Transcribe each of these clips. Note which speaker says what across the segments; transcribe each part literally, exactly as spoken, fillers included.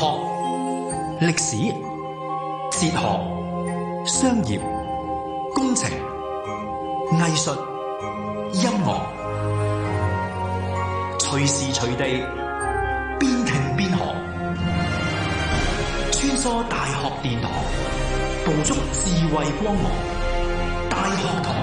Speaker 1: 學、歷史、哲學、商業、工程、藝術、音樂，隨時隨地邊聽邊學，穿梭大學殿堂，捕捉智慧光芒。大學堂。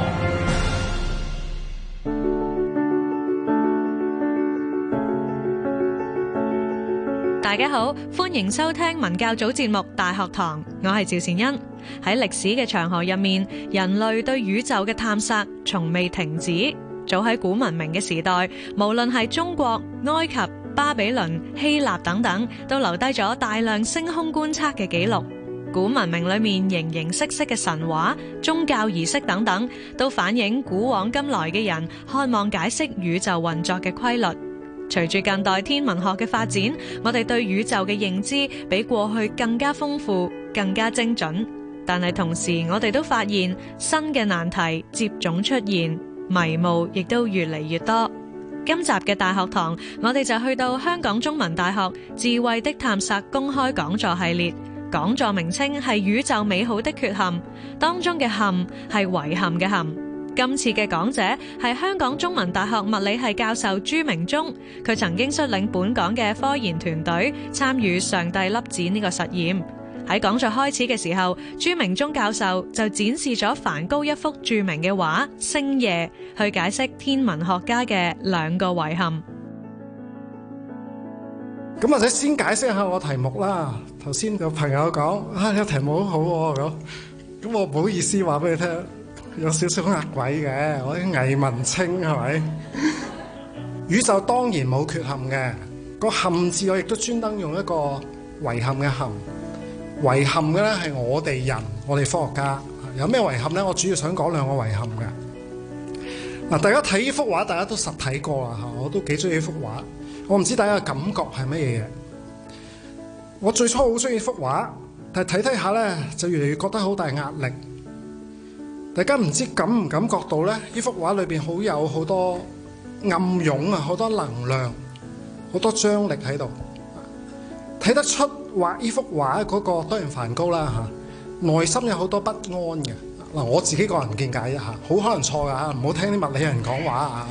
Speaker 2: 大家好，歡迎收聽文教組節目《大學堂》，我係趙善恩。喺歷史嘅長河入面，人類對宇宙嘅探索從未停止。早喺古文明嘅時代，無論係中國、埃及、巴比倫、希臘等等，都留低咗大量星空觀測嘅記錄。古文明裏面形形色色嘅神話、宗教儀式等等，都反映古往今來嘅人渴望解釋宇宙運作嘅規律。隨住近代天文學嘅發展，我哋對宇宙嘅認知比過去更加豐富、更加精準。但係同時，我哋都發現新嘅難題接踵出現，迷霧亦都越嚟越多。今集嘅大學堂，我哋就去到香港中文大學智慧的探索公開講座系列，講座名稱係宇宙美好的缺陷，當中嘅憾係遺憾嘅憾。今次嘅講者係香港中文大學物理系教授朱明忠，佢曾經率領本港嘅科研團隊參與上帝粒子呢個實驗。喺講座開始嘅時候，朱明忠教授就展示咗梵高一幅著名嘅畫《星夜》，去解釋天文學家嘅兩個遺憾。
Speaker 3: 咁或者先解釋下我題目啦。頭先有朋友講啊，呢個題目好好喎，咁咁我唔好意思話俾你聽，有少少呃鬼嘅，我啲偽文青係咪？宇宙當然冇缺陷嘅，個憾字我亦都專登用一個遺憾嘅憾。遺憾嘅咧係我哋人，我哋科學家有咩遺憾咧？我主要想講兩個遺憾嘅。嗱，大家睇呢幅畫，大家都實睇過啦嚇，我都幾中意呢幅畫。我唔知大家嘅感覺係乜嘢嘢。我最初好中意幅畫，但係睇睇下咧，就越嚟越覺得好大壓力。大家唔知感唔感覺到咧？呢幅畫裏邊好有好多暗湧啊，好多能量，好多張力喺度。睇得出畫呢幅畫嗰個當然梵高啦嚇，內心有好多不安嘅。嗱，我自己個人見解一下，好可能錯㗎嚇，唔好聽啲物理人講話啊。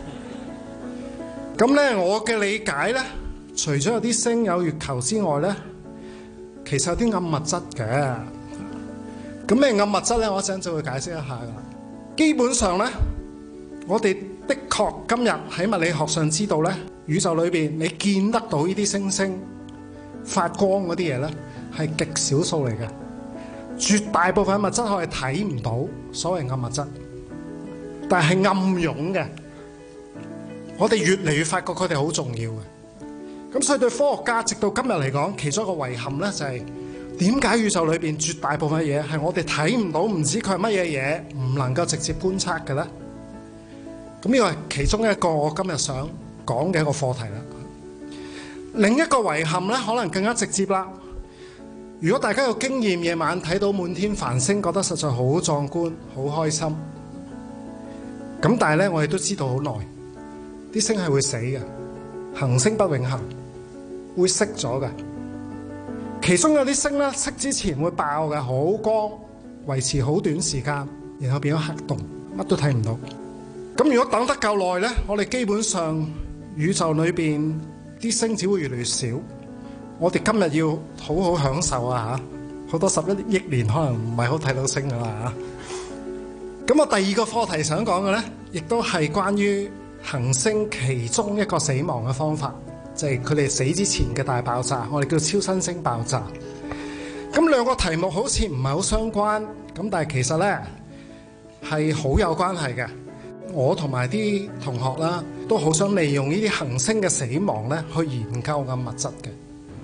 Speaker 3: 咁咧，我嘅理解咧，除咗有啲星有月球之外咧，其實有啲暗物質嘅。咁咩暗物質咧？我一陣就會解釋一下噶啦。基本上咧，我哋的確今日喺物理學上知道咧，宇宙裏邊你見得到呢啲星星發光嗰啲嘢咧，係極少數嚟嘅。絕大部分物質我係睇唔到，所謂暗物質，但係暗湧嘅。我哋越嚟越發覺佢哋好重要嘅。咁所以對科學家直到今日嚟講，其中一個遺憾咧就係點解宇宙裏邊絕大部分嘢係我哋睇唔到，唔知佢係乜嘢嘢，唔能夠直接觀測嘅咧？咁呢個係其中一個我今日想講嘅一個課題啦。另一個遺憾咧，可能更加直接啦。如果大家有經驗，夜晚睇到滿天繁星，覺得實在好壯觀，好開心。咁但係咧，我哋都知道好耐。啲星係會死嘅，行星不永恆，會熄咗嘅。其中有啲星咧，熄之前會爆嘅，好光，維持好短時間，然後變咗黑洞，乜都睇唔到。咁如果等得夠耐咧，我哋基本上宇宙裏邊啲星只會越嚟越少。我哋今日要好好享受啊嚇，好多十一億年可能唔係好睇到星噶啦嚇。咁我第二個課題想講嘅咧，亦都係關於行星其中一個死亡嘅方法，就係佢哋死之前嘅大爆炸，我哋叫超新星爆炸。咁兩個題目好似唔係好相關，咁但係其實呢係好有關係嘅。我同埋啲同學啦，都好想利用呢啲行星嘅死亡呢去研究暗物質嘅。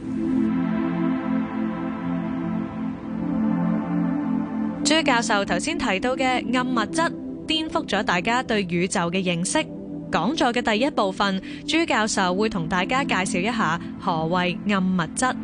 Speaker 2: 朱教授頭先提到嘅暗物質，顛覆咗大家對宇宙嘅認識。講座嘅第一部分，朱教授會同大家介紹一下何謂暗物質。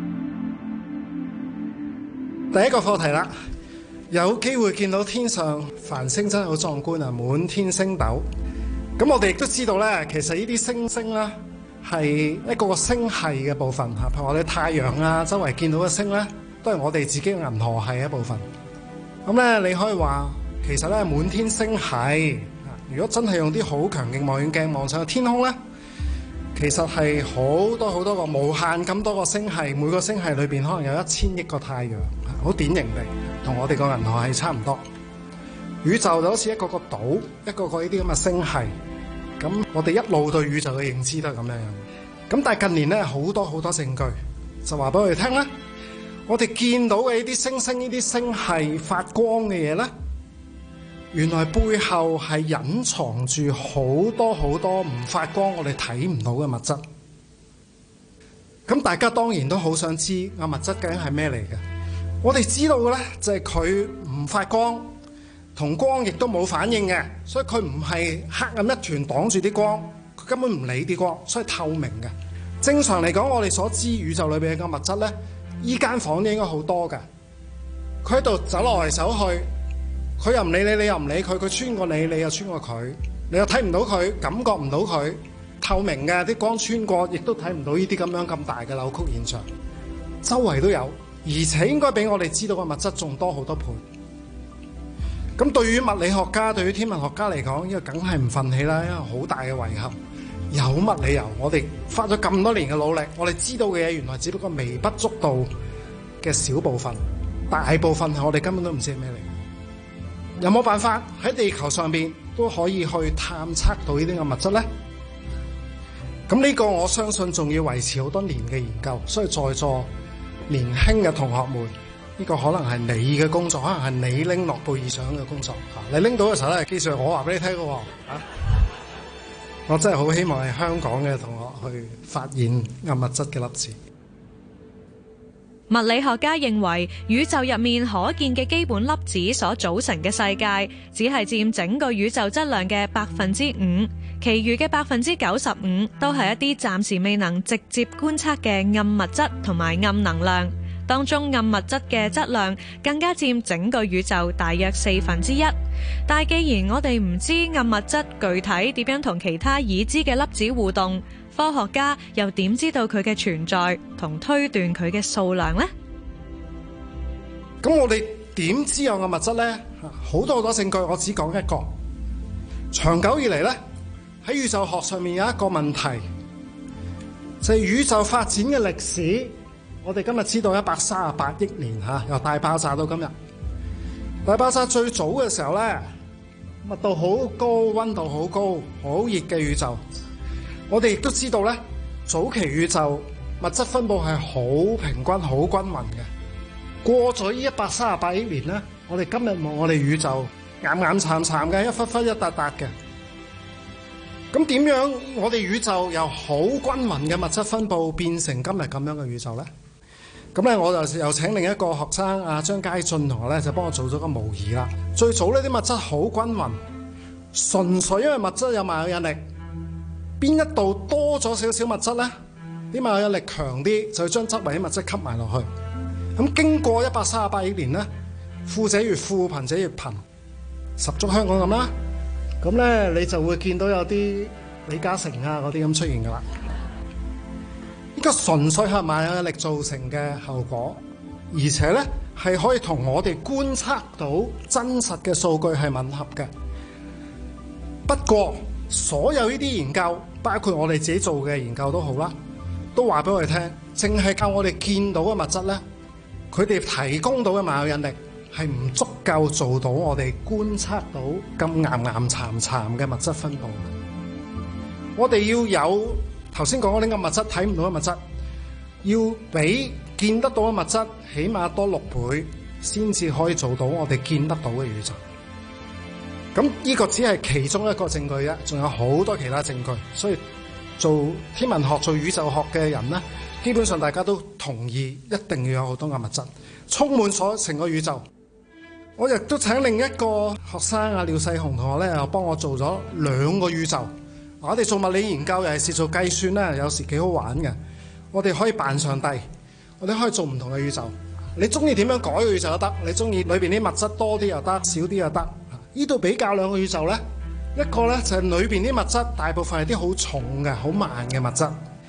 Speaker 3: 第一個課題啦，有機會見到天上繁星真係好壯觀啊，滿天星斗。咁我哋亦都知道咧，其實呢啲星星咧係一個個星系嘅部分嚇，譬如我哋太陽啊，周圍見到嘅星咧，都係我哋自己嘅銀河系一部分。咁咧，你可以話其實咧滿天星系，如果真係用啲好強勁望遠鏡望上去天空咧，其實係好多好多個無限咁多個星系，每個星系裏邊可能有一千億個太陽，好典型地同我哋個銀河系差唔多。宇宙就好似一個個島，一個個呢啲咁嘅星系。咁我哋一路對宇宙嘅認知都係咁樣樣。咁但係近年咧好多好多證據就話俾我哋聽咧，我哋見到嘅呢啲星星、呢啲星系發光嘅嘢咧，原來背後係隱藏住好多好多唔發光我哋睇唔到嘅物質。咁大家當然都好想知啊，物質究竟係咩嚟嘅？我哋知道嘅咧就係佢唔發光，同光亦都冇反應嘅，所以佢唔係黑暗一團擋住啲光，佢根本唔理啲光，所以透明嘅。正常嚟講，我哋所知宇宙裏邊嘅物質咧，依間房應該好多㗎。佢喺度走來走去，佢又唔理你，你又唔理佢，佢穿過你，你又穿過佢，你又睇唔到佢，感覺唔到佢，透明嘅，啲光穿過，亦都睇唔到呢啲咁樣咁大嘅扭曲現象，周圍都有，而且應該比我哋知道嘅物質仲多好多倍。咁對於物理學家、對於天文學家嚟講，呢個梗係唔忿氣啦，因為好大嘅遺憾。有乜理由？我哋花咗咁多年嘅努力，我哋知道嘅嘢原來只不過微不足道嘅小部分，大部分係我哋根本都唔知係咩嚟。有冇辦法喺地球上邊都可以去探測到呢啲嘅物質呢？咁呢個我相信仲要維持好多年嘅研究，所以在座年輕嘅同學們。呢個可能係你嘅工作，可能係你拎諾貝爾獎嘅工作嚇。你拎到嘅時候咧，記住我話俾你聽嘅喎嚇。我真係好希望係香港嘅同學去發現暗物質嘅粒子。
Speaker 2: 物理學家認為，宇宙入面可見嘅基本粒子所組成嘅世界，只係佔整個宇宙質量嘅百分之五，其餘嘅百分之九十五都係一啲暫時未能直接觀測嘅暗物質同埋暗能量。當中暗物質嘅質量更加佔整個宇宙大約四分之一。但係既然我哋唔知暗物質具體點樣同其他已知嘅粒子互動，科學家又點知道佢嘅存在同推斷佢嘅數量呢？
Speaker 3: 咁我哋點知有暗物質呢？好多好多證據，我只講一個。長久以嚟呢，喺宇宙學上面有一個問題，就係宇宙發展嘅歷史。我哋今日知道一百三十八億年嚇，由大爆炸到今日。大爆炸最早嘅時候咧，密度好高、溫度好高、好熱嘅宇宙。我哋亦都知道咧，早期宇宙物質分佈係好平均、好均勻嘅。過咗呢一百三十八億年咧，我哋今日望我哋宇宙岩岩巉巉嘅，一忽忽一笪笪嘅。咁點樣我哋宇宙由好均勻嘅物質分佈變成今日咁樣嘅宇宙咧？咁咧，我就又請另一個學生阿張佳俊同學咧，就幫我做咗個模擬啦。最早呢啲物質好均勻，純粹因為物質有萬有引力，邊一度多咗少少物質咧，啲萬有引力強啲，就要將周圍啲物質吸埋落去。咁經過一百三十八億年咧，富者越富，貧者越貧，十足香港咁啦。咁咧，你就會見到有啲李嘉誠啊嗰啲咁出現噶啦。呢個純粹係萬有引力造成嘅後果，而且咧係可以同我哋觀測到真實嘅數據係吻合嘅。不過，所有呢啲研究，包括我哋自己做嘅研究都好啦，都話俾我哋聽，淨係靠我哋見到嘅物質咧，佢哋提供到嘅萬有引力係唔足夠做到我哋觀測到咁岩岩巉巉嘅物質分佈。我哋要有頭先講嗰啲嘅物質睇唔到嘅物質，要比見得到嘅物質起碼多六倍，先至可以做到我哋見得到嘅宇宙。咁呢個只係其中一個證據啫，仲有好多其他證據。所以做天文學、做宇宙學嘅人呢，基本上大家都同意一定要有好多嘅物質，充滿咗成個宇宙。我亦都請另一個學生啊廖世雄同學咧，又幫我做咗兩個宇宙。我哋做物理研究，尤其是做計算咧，有時幾好玩嘅。我哋可以扮上帝，我哋可以做唔同嘅宇宙。你中意點樣改個宇宙都得，你中意裏邊啲物質多啲又得，少啲又得。呢度比較兩個宇宙咧，一個咧就係裏邊啲物質大部分係啲好重嘅、好慢嘅物質，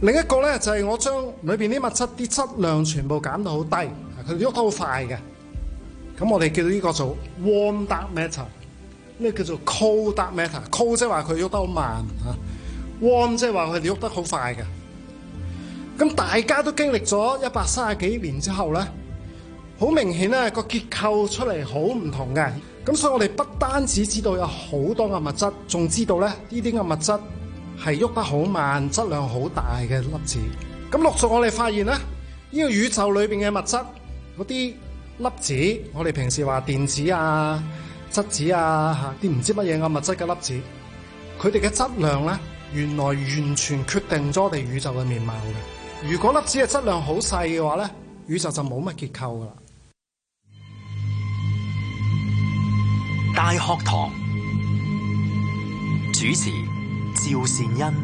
Speaker 3: 另一個咧就係、是、我將裏邊啲物質啲質量全部減到好低，佢哋喐得好快嘅。咁我哋叫呢個做 warm dark matter， 呢個叫做 cold dark matter。cold 即係話佢喐得好慢嚇 ，warm 即係話佢哋喐得好快嘅。咁大家都經歷咗一百三十幾年之後咧，好明顯咧個結構出嚟好唔同嘅。咁所以我哋不單止知道有好多嘅物質，仲知道咧呢啲嘅物質係喐得好慢、質量好大嘅粒子。咁陸續我哋發現咧，呢個宇宙裏邊嘅物質嗰啲粒子，我哋平時話電子啊、質子啊嚇啲唔知乜嘢嘅物質嘅粒子，佢哋嘅質量咧，原來完全決定咗我哋宇宙嘅面貌嘅。如果粒子嘅質量好細嘅話咧，宇宙就冇乜結構噶啦。
Speaker 1: 大學堂主持趙善恩。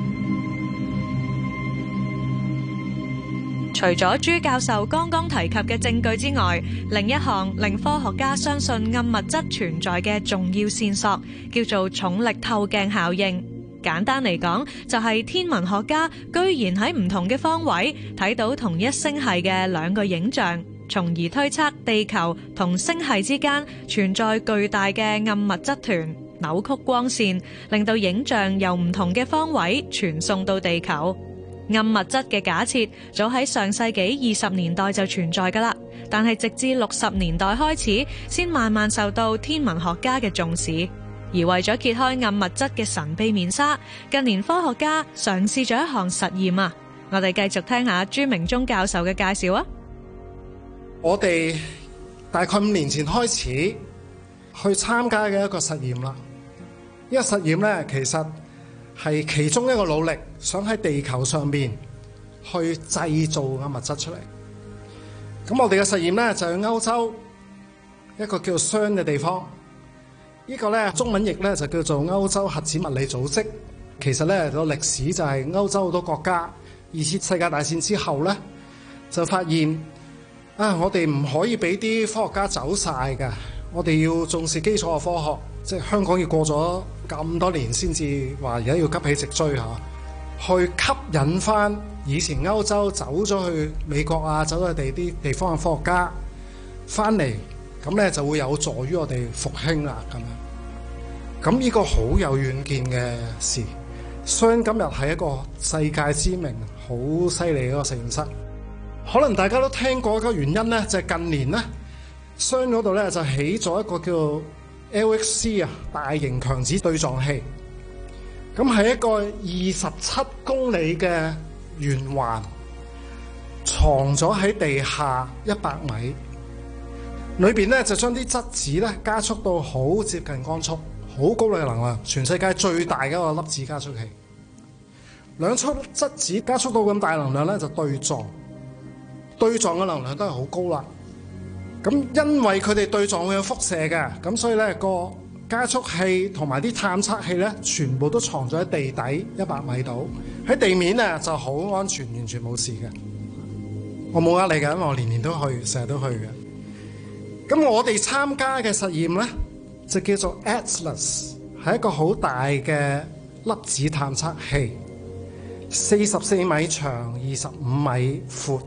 Speaker 2: 除咗朱教授剛剛提及嘅證據之外，另一項令科學家相信暗物質存在嘅重要線索，叫做重力透鏡效應。簡單嚟講，就係天文學家居然喺唔同嘅方位睇到同一星系嘅兩個影像，從而推測地球同星系之間存在巨大嘅暗物質團，扭曲光線，令到影像由唔同嘅方位傳送到地球。暗物質嘅假設早喺上世紀二十年代就存在㗎喇，但係直至六十年代開始，先慢慢受到天文學家嘅重視。而為咗揭開暗物質嘅神秘面紗，近年科學家嘗試咗一項實驗啊！我哋繼續聽下朱明忠教授嘅介紹啊！
Speaker 3: 我哋大概五年前開始去參加嘅一個實驗啦。呢個實驗咧，其實係其中一個努力，想喺地球上面去製造暗物質出嚟。咁我哋嘅實驗咧就喺歐洲一個叫做 C E R N 嘅地方。呢個咧中文譯咧就叫做歐洲核子物理組織。其實咧個歷史就係歐洲好多國家二次世界大戰之後咧就發現啊，我哋唔可以俾啲科學家走晒㗎，我哋要重視基礎嘅科學。即係香港要過咗咁多年先至話而家要急起直追嚇，去吸引翻以前歐洲走咗去美國啊，走咗去地啲地方嘅科學家翻嚟，咁咧就會有助於我哋復興啦咁樣。咁呢個好有遠見嘅事。C E R N今日係一個世界知名、好犀利嘅一個實驗室。可能大家都聽過一個原因咧，就係近年咧 C E R N 嗰度咧就起咗一個叫 L H C 啊，大型強子對撞器。咁係一個二十七公里嘅圓環，藏咗喺地下一百米。裏邊咧就將啲質子咧加速到好接近光速，好高嘅能量，全世界最大嘅一個粒子加速器。兩束質子加速到咁大能量咧就對撞，對撞嘅能量都係好高啦。咁因為佢哋對撞會有輻射嘅，咁所以咧個加速器同埋啲探測器咧全部都藏咗喺地底一百米度，喺地面咧就好安全，完全冇事嘅。我冇呃你嘅，因為我年年都去，成日都去嘅。咁我哋參加嘅實驗咧就叫做 Atlas， 係一個好大嘅粒子探測器，四十四米長，二十五米闊。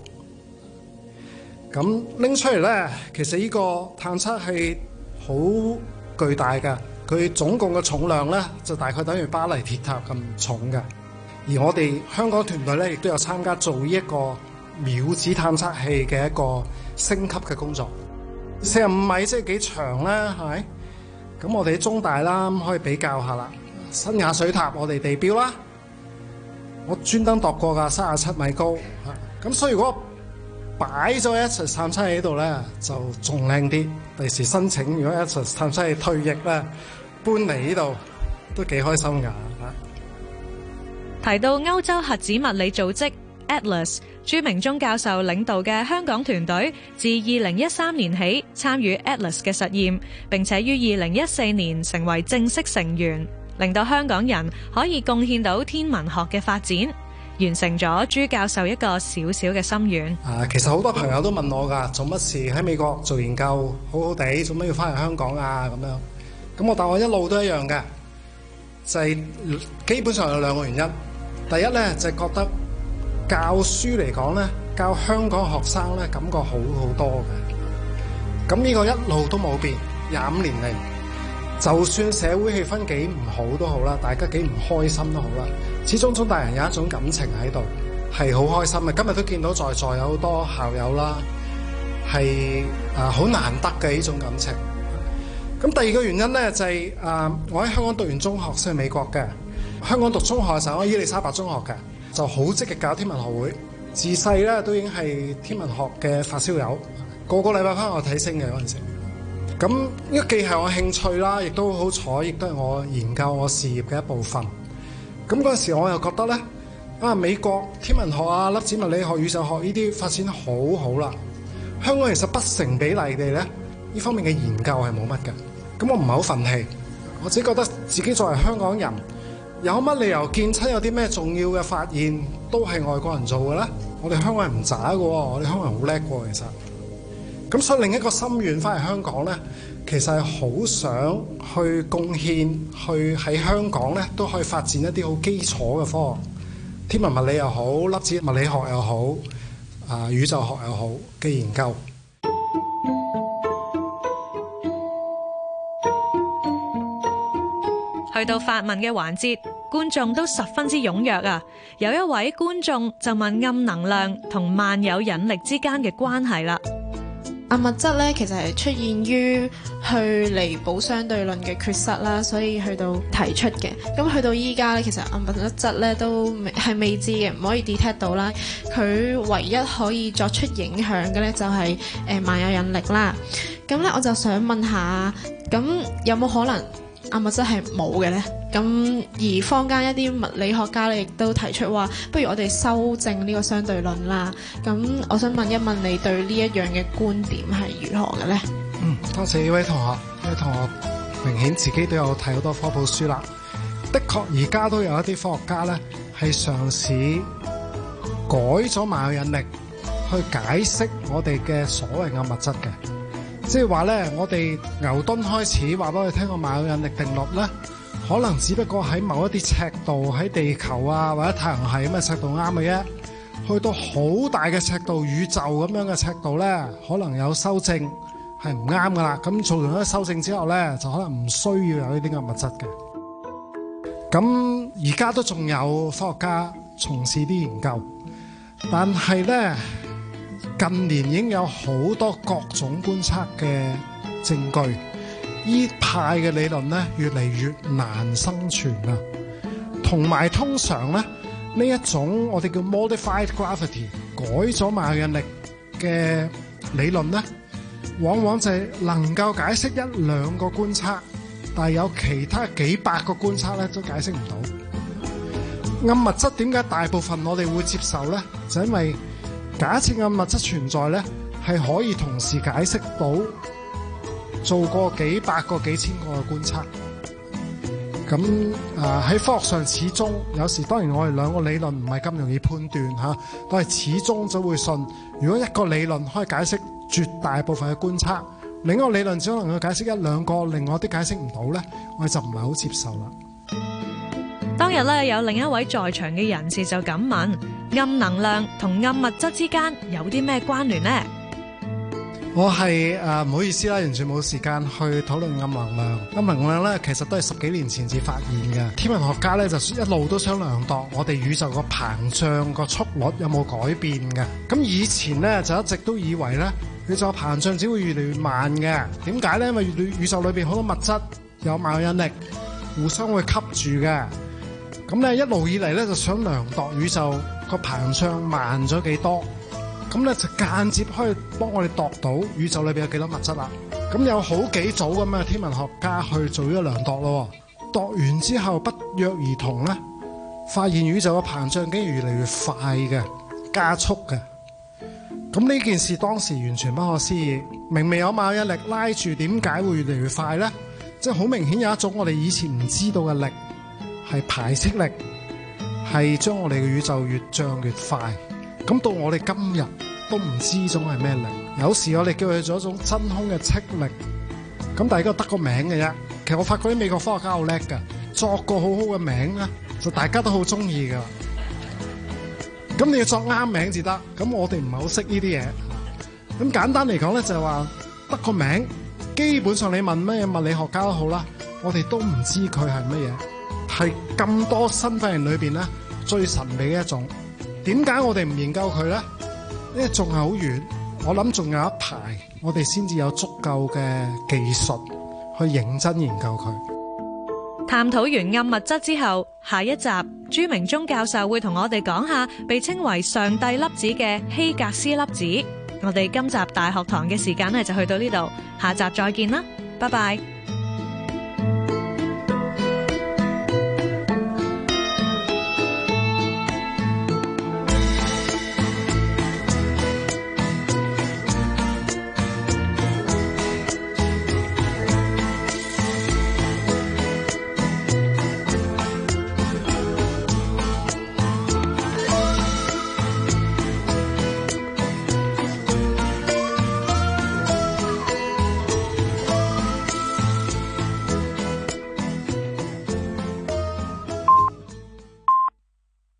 Speaker 3: 咁拎出嚟咧，其實呢個探測器好巨大嘅，佢總共嘅重量咧就大概等於巴黎鐵塔咁重嘅。而我哋香港團隊咧亦都有參加做呢一個秒子探測器嘅一個升級嘅工作。四十五米即係幾長咧？係咪？咁我哋喺中大啦，咁可以比較下啦。新亞水塔我哋地標啦，我專登度過㗎，三十七米高嚇。咁所以如果擺咗 Atlas 探測器喺度咧，就仲靚啲。第時申請如果 Atlas 探測器退役咧，搬嚟呢度都幾開心㗎。
Speaker 2: 提到歐洲核子物理組織 Atlas， 朱明忠教授領導嘅香港團隊自二零一三年起參與 Atlas 嘅實驗，並且於二零一四年成為正式成員，令到香港人可以貢獻到天文學嘅發展。完成咗朱教授一個小小嘅心願。
Speaker 3: 啊，其實好多朋友都問我㗎，做乜事喺美國做研究好好地，做乜要翻嚟香港啊？咁樣，咁我答我一路都一樣嘅，就係基本上有兩個原因。第一咧就係覺得教書嚟講咧，教香港學生咧感覺好好多嘅。咁呢個一路都冇變，廿五年嚟，就算社會氣氛幾唔好都好啦，大家幾唔開心都好啦，始終中大人有一種感情喺度，係好開心嘅。今日都見到在座有好多校友啦，係啊好難得嘅呢種感情。咁第二個原因咧就係、是、啊、呃，我喺香港讀完中學先去美國嘅。香港讀中學嘅時候，我喺伊利沙伯中學嘅，就好積極搞天文學會。自細咧都已經係天文學嘅發燒友，個個禮拜翻學睇星嘅嗰陣時。咁呢個既係我興趣啦，亦都好彩，亦都係我研究我事業嘅一部分。咁嗰陣時我又覺得咧，啊美國天文學啊、粒子物理學、宇宙學呢啲發展好好啦。香港其實不成比例地咧，呢方面嘅研究係冇乜嘅。咁我唔係好憤氣，我只覺得自己作為香港人，有乜理由見親有啲咩重要嘅發現都係外國人做嘅咧？我哋香港人唔渣嘅喎，我哋香港人好叻嘅其實。咁所以另一個心願翻嚟香港咧，其實係好想去貢獻，去喺香港咧都可以發展一啲好基礎嘅科學，天文物理又好，粒子物理學又好，啊宇宙學又好嘅研究。
Speaker 2: 去到發問嘅環節，觀眾都十分之踴躍啊！有一位觀眾就問暗能量同萬有引力之間嘅關係啦。
Speaker 4: 暗物質咧，其實係出現於去彌補相對論嘅缺失啦，所以去到提出嘅。咁去到依家咧，其實暗物質咧都係未知嘅，唔可以 detect 到啦。佢唯一可以作出影響嘅咧，就係誒萬有引力啦。咁咧，我就想問下，咁有冇可能暗物質係冇嘅咧？咁而坊間一啲物理學家咧，亦都提出話，不如我哋修正呢個相對論啦。咁我想問一問你對呢一樣嘅觀點係如何嘅咧？
Speaker 3: 嗯，多謝呢位同學，呢位同學明顯自己都有睇好多科普書啦。的確，而家都有一啲科學家咧係嘗試改咗萬有引力去解釋我哋嘅所謂暗物質嘅。即係話咧，我哋牛頓開始話俾我哋聽個萬有引力定律咧，可能只不過喺某一啲尺度，喺地球啊或者太陽系咁嘅尺度啱嘅啫。去到好大嘅尺度，宇宙咁樣嘅尺度咧，可能有修正係唔啱噶啦。咁做完咗修正之後咧，就可能唔需要有呢啲暗物質嘅。咁而家都仲有科學家從事啲研究，但係咧，近年已經有好多各種觀測嘅證據，依派嘅理論咧越嚟越難生存啦。同埋通常咧，呢一種我哋叫 modified gravity 改咗萬有引力嘅理論咧，往往就係能夠解釋一兩個觀測，但係有其他幾百個觀測咧都解釋唔到。暗物質點解大部分我哋會接受咧？就因為假設暗物質存在咧，係可以同時解釋到做過幾百個、幾千個嘅觀測。咁啊喺科學上始終有時，當然我哋兩個理論唔係咁容易判斷嚇，但係始終就會信，如果一個理論可以解釋絕大部分嘅觀測，另一個理論只可能去解釋一兩個，另外啲解釋唔到咧，我哋就唔係好接受啦。
Speaker 2: 當日咧有另一位在場嘅人士就咁問：暗能量同暗物質之間有啲咩關聯呢？
Speaker 3: 我係誒唔好意思啦，完全冇時間去討論暗能量。暗能量咧，其實都係十幾年前至發現嘅。天文學家咧就一路都想量度我哋宇宙個膨脹個速率有冇改變嘅。咁以前咧就一直都以為咧宇宙膨脹只會越嚟越慢嘅。點解咧？因為宇宙裏邊好多物質有萬有引力，互相會吸住嘅。咁咧一路以嚟咧就想量度宇宙個膨脹慢咗幾多。咁咧就間接可以幫我哋度到宇宙裏邊有幾多物質啦。咁有好幾組咁嘅天文學家去做咗量度咯。度完之後不約而同咧，發現宇宙嘅膨脹竟然越嚟越快嘅，加速嘅。咁呢件事當時完全不可思議。明明有萬有引力拉住，點解會越嚟越快咧？即係好明顯有一種我哋以前唔知道嘅力，係排斥力，係將我哋嘅宇宙越漲越快。咁到我哋今日都唔知呢種係咩力，有時我哋叫佢做一種真空嘅斥力。咁大家得個名嘅啫。其實我發覺啲美國科學家好叻㗎，作個好好嘅名咧，就大家都好中意㗎。 咁你要作啱名至得。咁我哋唔係好識呢啲嘢。咁簡單嚟講咧，就係話得個名，基本上你問咩物理學家都好啦，我哋都唔知佢係乜嘢，係咁多身份人裏邊咧最神秘嘅一種。點解我哋唔研究佢咧？因為仲係好遠，我諗仲有一排，我哋先至有足夠嘅技術去認真研究佢。
Speaker 2: 探討完暗物質之後，下一集朱明忠教授會同我哋講下被稱為上帝粒子嘅希格斯粒子。我哋今集大學堂嘅時間咧就去到呢度，下集再見啦，拜拜。